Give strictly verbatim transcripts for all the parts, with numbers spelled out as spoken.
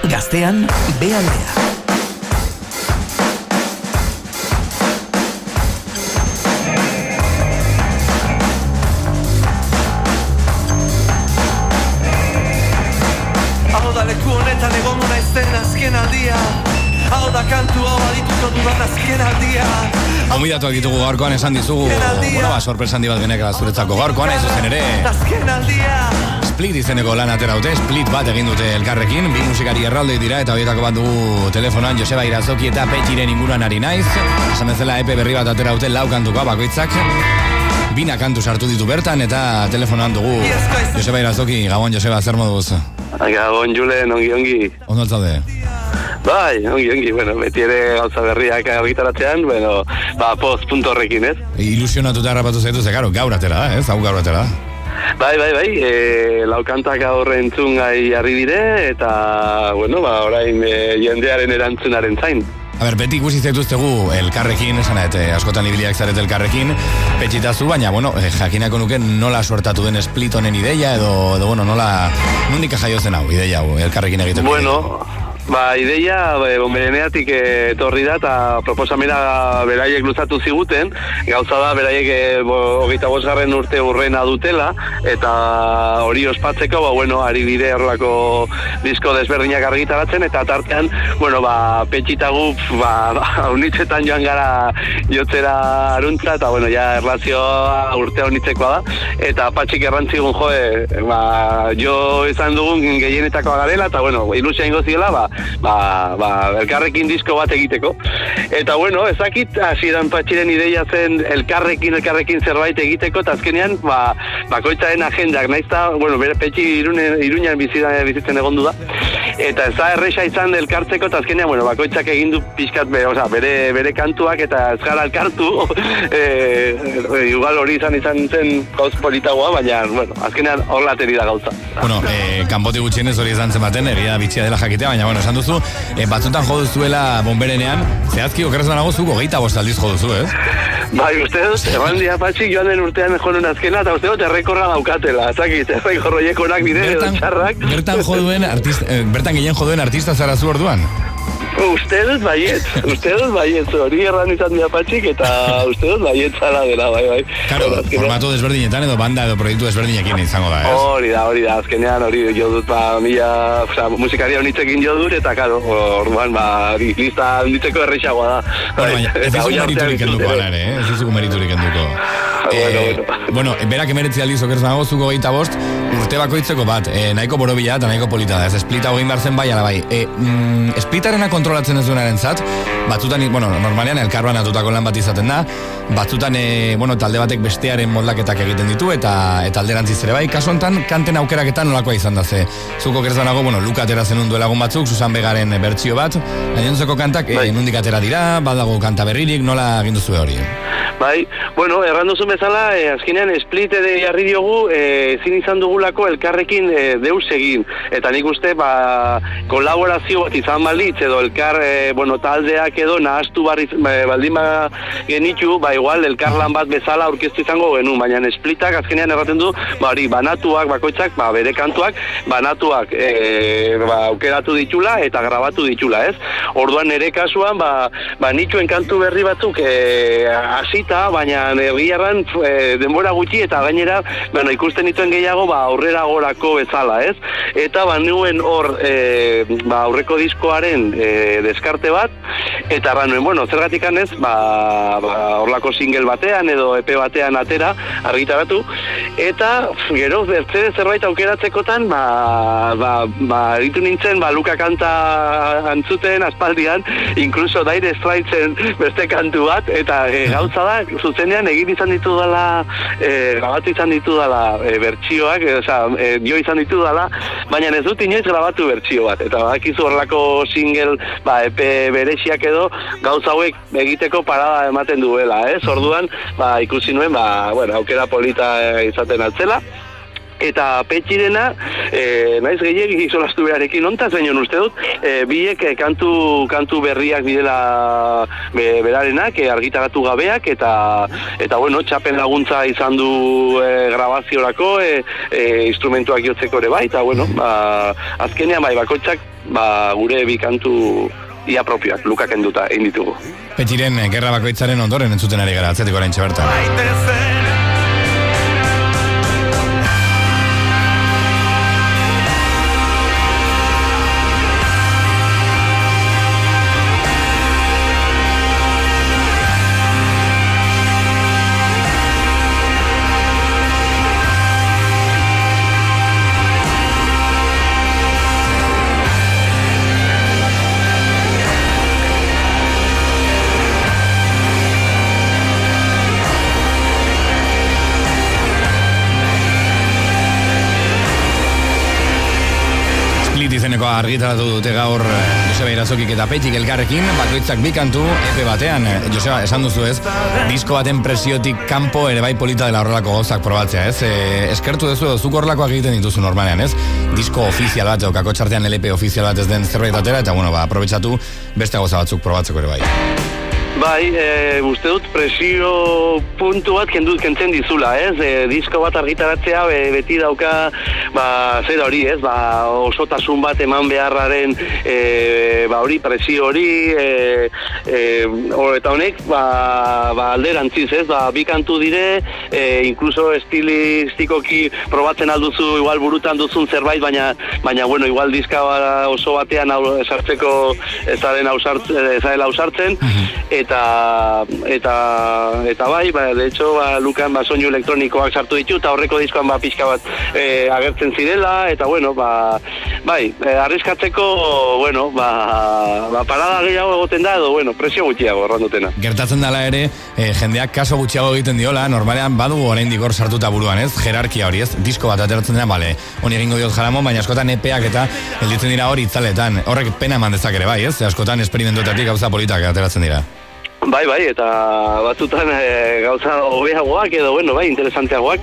Gaztean, bealdea. Leku honetan egon naizten azken aldia. Hau da kantu hau adituko dudan azken aldia. Gomidatuak ditugu gaurkoan esan dizugu. Bueno, ba, sorpresa handi bat genekala zuretzako gaurkoan, ez zuzen ere. Azken aldia. Split izeneko lan atera dute, Split bat egin dute elkarrekin, bi musikari erralde dira eta horietako bat dugu telefonan Joseba Irazoki eta Petxiren inguruan ari naiz. Esan bezala epe berri bat atera dute lau kantukoa bakoitzak. Bina kantu sartu ditu bertan eta telefonan dugu Joseba Irazoki. Gabon, Joseba, zer moduz? Gabon, Julen, ongi, ongi. Ondo altzaude? Bai, ongi, ongi, bueno, beti ere gauza berriak argitaratzean, bueno, ba, post punto horrekin, ez? Ilusionatuta harrapatu zaitu, ze, karo, gaur atera da, ez? Hau gaur atera da. Bai, bai, bai, e, laukantak aurre entzungai harri dire, eta, bueno, ba, orain e, jendearen erantzunaren zain. A ber, beti ikusi zaituztegu elkarrekin, esan et, askotan ibiliak zaret elkarrekin, petxitazu, baina, bueno, jakinako nuke nola suertatu den Split honen ideia, edo, edo bueno, nola, nundika jaio zen hau, ideia hau, elkarrekin egiteko. Bueno, ba, ideia, bonbereneatik etorri da, eta proposamena beraiek luzatu ziguten, gauza da, beraiek hogeita bosgarren urte urrena dutela, eta hori ospatzeko, ba, bueno, ari dire horrelako disko desberdinak argitaratzen, eta tartean, bueno, ba, petxitagu, ba, unitzetan joan gara jotzera aruntza, eta, bueno, ja, erlazioa urtea unitzekoa da, eta patxik errantzigun, joe, ba, jo izan dugun gehienetakoa garela, eta, bueno, ilusia ingo ziola, ba, ba, ba, elkarrekin disko bat egiteko. Eta, bueno, ezakit, hasieran Patxiren ideia zen elkarrekin, elkarrekin zerbait egiteko, eta azkenean, ba, bakoitzaren agendak, naizta, bueno, bere Petxi Iruñan bizitzen egondu da, eta ez da erresa izan elkartzeko, eta azkenean, bueno, bakoitzak egin du pixkat, be, oza, bere, bere kantuak, eta ez gara elkartu, e, e, igual hori izan izan zen gauz politagoa, baina, bueno, azkenean hor lateri da gauza. Bueno, e, kanpotik gutxienez hori izan zen baten, egia bitxia dela jakitea, baina, bueno, esan duzu, e, batzutan jo duzuela bonberenean, zehazki okerrez banago zuko gehieta bost aldiz jo duzu, ez? Bai, uste dut, eman dia Patxik joan den urtean jonun azkena, eta uste dut errekorra daukatela, zakit, errekorro jekonak bide edo txarrak. Bertan joduen artista, eh, bertan gehien joduen artista zara zu orduan? Uste dut baiet, uste dut baiet, hori erran izan dira Patxik, eta uste dut baiet zala dela, bai, bai. Karo, formato desberdinetan edo banda edo proiektu desberdinekin izango da, ez? Hori da, hori da, azkenean hori jo dut, ba, mila, oza, musikaria honitzekin jo dut, eta karo, orduan, ba, lista honditzeko errexagoa da. Bueno, baina, ez dizugu meriturik enduko, alare, eh? Ez dizugu meriturik enduko. Bueno, bueno. Bueno, berak emeretzi aldiz okerz nago, zuko gehieta bost, urte bakoitzeko bat, e, nahiko borobila eta nahiko polita da, ez Splita hogin behar zen bai, ala bai. E, mm, Splitarena kontrolatzen ez duenaren zat, batzutan, bueno, normalean elkarban atutako lan bat izaten da, batzutan, e, bueno, talde batek bestearen moldaketak egiten ditu, eta eta alderantziz ere bai, kasu honetan, kanten aukeraketan nolakoa izan da, ze, zuko okerz nago, bueno, Luka atera zenun duelagun batzuk, Susan Begaren bertsio bat, gainontzeko kantak, e, nundik atera dira, badago kanta berririk, nola egin duzu hori? Bai, bueno, errandu zuen bezala, eh, azkenean Split ere jarri diogu, eh, ezin izan dugulako elkarrekin eh, deus egin. Eta nik uste, ba, kolaborazio bat izan balitz, edo elkar, eh, bueno, taldeak edo nahaztu barriz, eh, baldin ba genitu, ba, igual, elkarlan bat bezala aurkeztu izango genuen, baina Splitak azkenean erraten du, ba, hori, banatuak, bakoitzak, ba, bere kantuak, banatuak, eh, ba, aukeratu ditula eta grabatu ditula, ez? Orduan nire kasuan, ba, ba nituen kantu berri batzuk, eh, hasita, baina egiarran e, denbora gutxi eta gainera, bueno, ikusten dituen gehiago, ba, aurrera gorako bezala, ez? Eta ba nuen hor e, ba, aurreko diskoaren e, deskarte bat, eta ba nuen, bueno, zergatik anez, ba, ba horlako single batean edo E P batean atera, argitaratu, eta gero, bertze zerbait aukeratzekotan, ba, ba, ba, ditu nintzen, ba, Luka kanta antzuten, aspaldian, inkluso Dire Straitsen beste kantu bat, eta e, gauza da, zuzenean egin izan ditu dela, e, grabatu izan ditu dela e, bertsioak, e, oza, e, dio izan ditu dela, baina ez dut inoiz grabatu bertsio bat, eta badakizu horrelako single, ba, E P berexiak edo, gauza hauek egiteko parada ematen duela, ez? Orduan, ba, ikusi nuen, ba, bueno, aukera polita izaten altzela, eta Petxirena, e, naiz gehiagik solastu beharekin ontaz, baina uste dut, e, biek e, kantu, kantu berriak bidela be, berarenak, e, argitaratu gabeak, eta, eta bueno, txapen laguntza izan du e, grabaziorako, e, e, instrumentuak jotzeko ere bai, eta bueno, ba, azkenean bai, bakoitzak ba, gure bi kantu ia propioak, Lukak enduta, egin ditugu. Petiren gerra bakoitzaren ondoren entzuten ari gara, atzetik oraintxe bertan. Argitaratu dute gaur Joseba Irazokik eta Petik elkarrekin, bakoitzak bi kantu epe batean. Joseba, esan duzu ez, disko baten presiotik kanpo ere bai polita dela horrelako gauzak probatzea, ez? E, eskertu duzu, zuk horrelakoak egiten dituzu normalean, ez? Disko ofizial bat, okako txartean L P ofizial bat ez den zerbait atera, eta bueno, ba, aprobetsatu beste gauza batzuk probatzeko ere bai. Bai, e, uste dut presio puntu bat kendut kentzen dizula, ez? E, disko bat argitaratzea be, beti dauka, ba, zer hori, ez? Ba, osotasun bat eman beharraren, e, ba, hori, presio hori, e, e, or, eta honek, ba, ba, alderantziz, ez? Ba, bi kantu dire, e, inkluso estilistikoki probatzen alduzu, igual burutan duzun zerbait, baina, baina, bueno, igual diska oso batean hau esartzeko ezaren ausartzen, eta eta eta bai, ba, de hecho, ba, Lukan ba, soinu elektronikoak sartu ditu, eta horreko diskoan ba, pixka bat e, agertzen zirela, eta bueno, ba, bai, e, arriskatzeko, bueno, ba, ba, parada gehiago egoten da, edo, bueno, presio gutxiago errandutena. Gertatzen dela ere, e, jendeak kaso gutxiago egiten diola, normalean badugu oraindik hor sartuta buruan, ez? Jerarkia hori, ez? Disko bat ateratzen dena, bale, honi egingo diot jaramon, baina askotan epeak eta gelditzen dira hori itzaletan. Horrek pena eman dezak ere bai, ez? Askotan esperimentuetatik gauza politak ateratzen dira. Bai, bai, eta batzutan e, gauza hobeagoak edo, bueno, bai, interesanteagoak.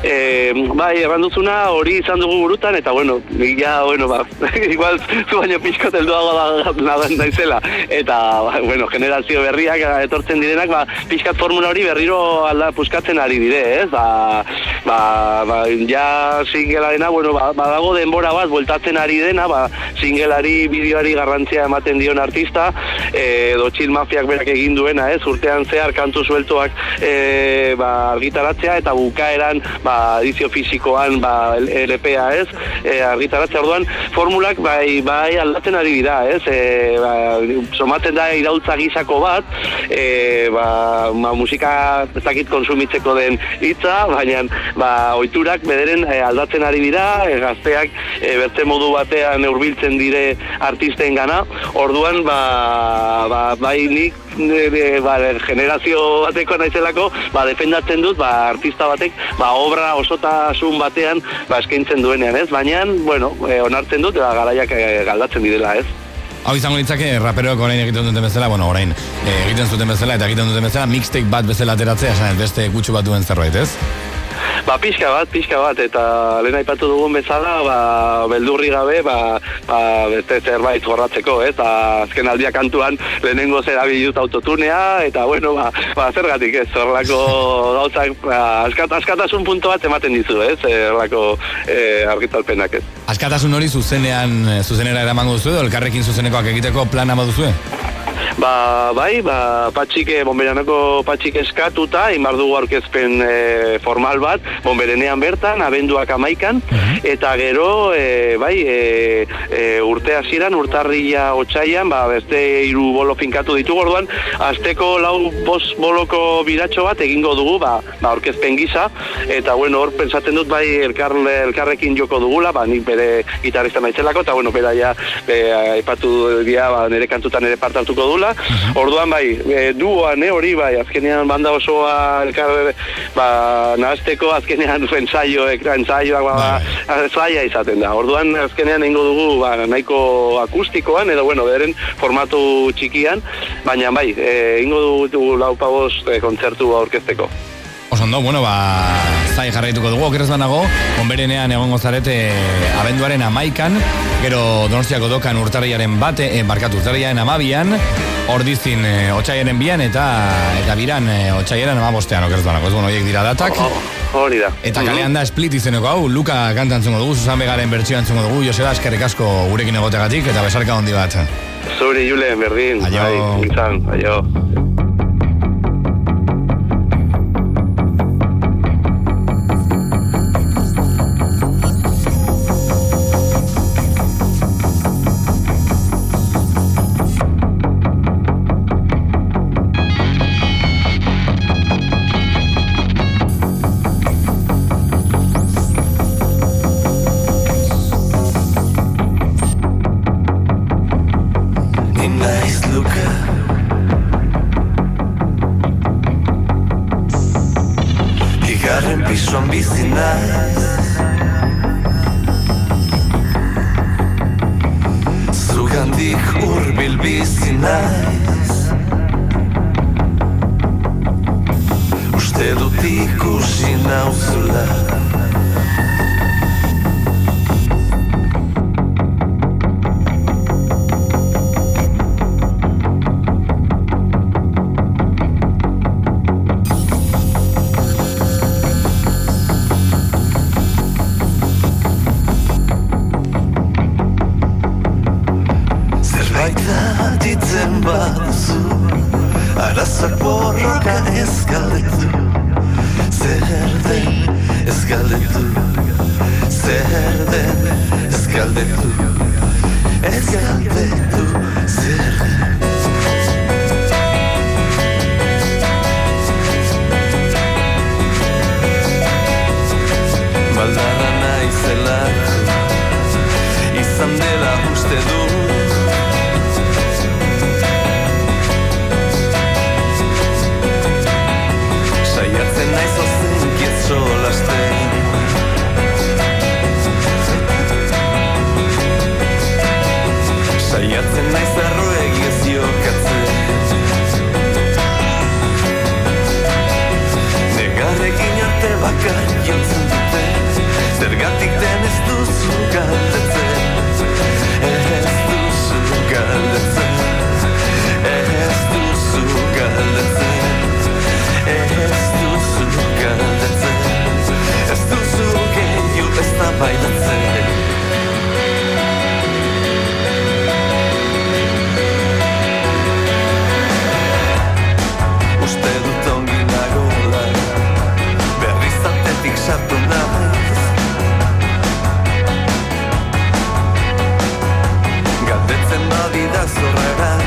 E, bai, erranduzuna hori izan dugu burutan, eta, bueno, ja, bueno, ba, igual zu baino pixkot helduago da naizela. Eta, ba, bueno, generazio berriak etortzen direnak, ba, pixkat formula hori berriro alda puskatzen ari dire, ez? Ba, ba, ba ja singelarena, bueno, ba, badago denbora bat, bueltatzen ari dena, ba, singelari, bideoari garrantzia ematen dion artista, e, edo Chill Mafiak berak egin duena, ez, urtean zehar kantu sueltoak e, ba, argitaratzea, eta bukaeran ba, edizio fisikoan ba, L P-a, ez, e, argitaratzea orduan, formulak bai, bai aldatzen ari dira, ez, e, ba, somatzen da iraultza gizako bat, e, ba, ba, musika ez dakit konsumitzeko den hitza, baina ba, ohiturak bederen e, aldatzen ari dira, e, gazteak e, bertze modu batean hurbiltzen dire artisten gana, orduan ba, ba, bai nik De, ba, generazio bateko naizelako, ba, defendatzen dut, ba, artista batek, ba, obra osotasun batean, ba, eskaintzen duenean, ez? Baina, bueno, e, onartzen dut, ba, garaiak e, galdatzen direla, ez? Hau izango litzake, raperoek orain egiten duten bezala, bueno, orain e, egiten zuten bezala, eta egiten duten bezala, mixtape bat bezala ateratzea, esan, beste gutxu bat duen zerbait, ez? Ba, pixka bat, pixka bat, eta lehen aipatu dugun bezala, ba, beldurri gabe, ba, ba, beste zerbait jorratzeko, ez? Eta azken aldia kantuan lehenengo zera bidut autotunea, eta bueno, ba, ba zergatik ez, horrelako gauzak, ba, askat, askatasun punto bat ematen dizu, ez? Horrelako e, argitalpenak, ez? Askatasun hori zuzenean, zuzenera eramango duzu, edo elkarrekin zuzenekoak egiteko plana baduzue? Ba, bai, ba, patxike, bonberanako patxik eskatuta, inbar dugu aurkezpen e, formal bat, bonberenean bertan, abenduak amaikan, uh-huh. Eta gero, e, bai, e, e, urte hasieran, urtarrila otsaian, ba, beste hiru bolo finkatu ditugu, orduan, azteko lau bost boloko biratxo bat egingo dugu, ba, ba aurkezpen gisa, eta, bueno, hor pensatzen dut, bai, elkar, elkarrekin joko dugula, ba, nik bere gitarrista naizelako, eta, bueno, bera ja, aipatu dia, ba, nire kantutan ere parte hartuko dula. Uh-huh. Orduan bai, e, duoan, eh, hori bai, azkenean banda osoa elkar, ba, nahazteko, azkenean ensaioek, ensaioak, ba, zaila izaten da. Orduan, azkenean egingo dugu, ba, nahiko akustikoan, edo, bueno, beren formatu txikian, baina bai, egingo dugu laupaboz e, kontzertu aurkezteko. Osondo, bueno, ba, zai jarraituko dugu, okerrez banago, onberenean egongo zarete abenduaren amaikan, gero Donostiako dokan urtarriaren bate, eh, barkatu urtarriaren amabian, ordizin e, otsaiaren bian, eta eta biran e, otsaiaren amabostean, okerrez banago, ez bueno, horiek dira datak. Oh, oh. hori da. Eta kalean da Split izeneko hau, Luka kanta entzungo dugu, Susan Begaren bertsioa entzungo dugu, Joseba, eskerrik asko gurekin egoteagatik, eta besarka handi bat. Zuri, Julen, berdin. Aio. Bai, izan, aio. Pisuan bizi naiz Zugandik hurbil bizi naiz Uste dut ikusi nauzula Arazak borroka ez galdetu Zer den ez galdetu Zer den ez galdetu Ez galdetu zer den Baldarra naizelako Izan dela uste du Saiatzen naiz ozenkiet solasten Saiatzen naiz arroegi ez jokatzen Negarrekin arte bakar jontzen dute Zergatik den ez duzu galdetzen Ez duzu galdetzen Ez duzu galdetzen Ez duzu galdetzen Ez duzu gehiu ez da bailatzen Uste dut ongi nagoela Berriz atetik sartu naiz Galdetzen badida zorrara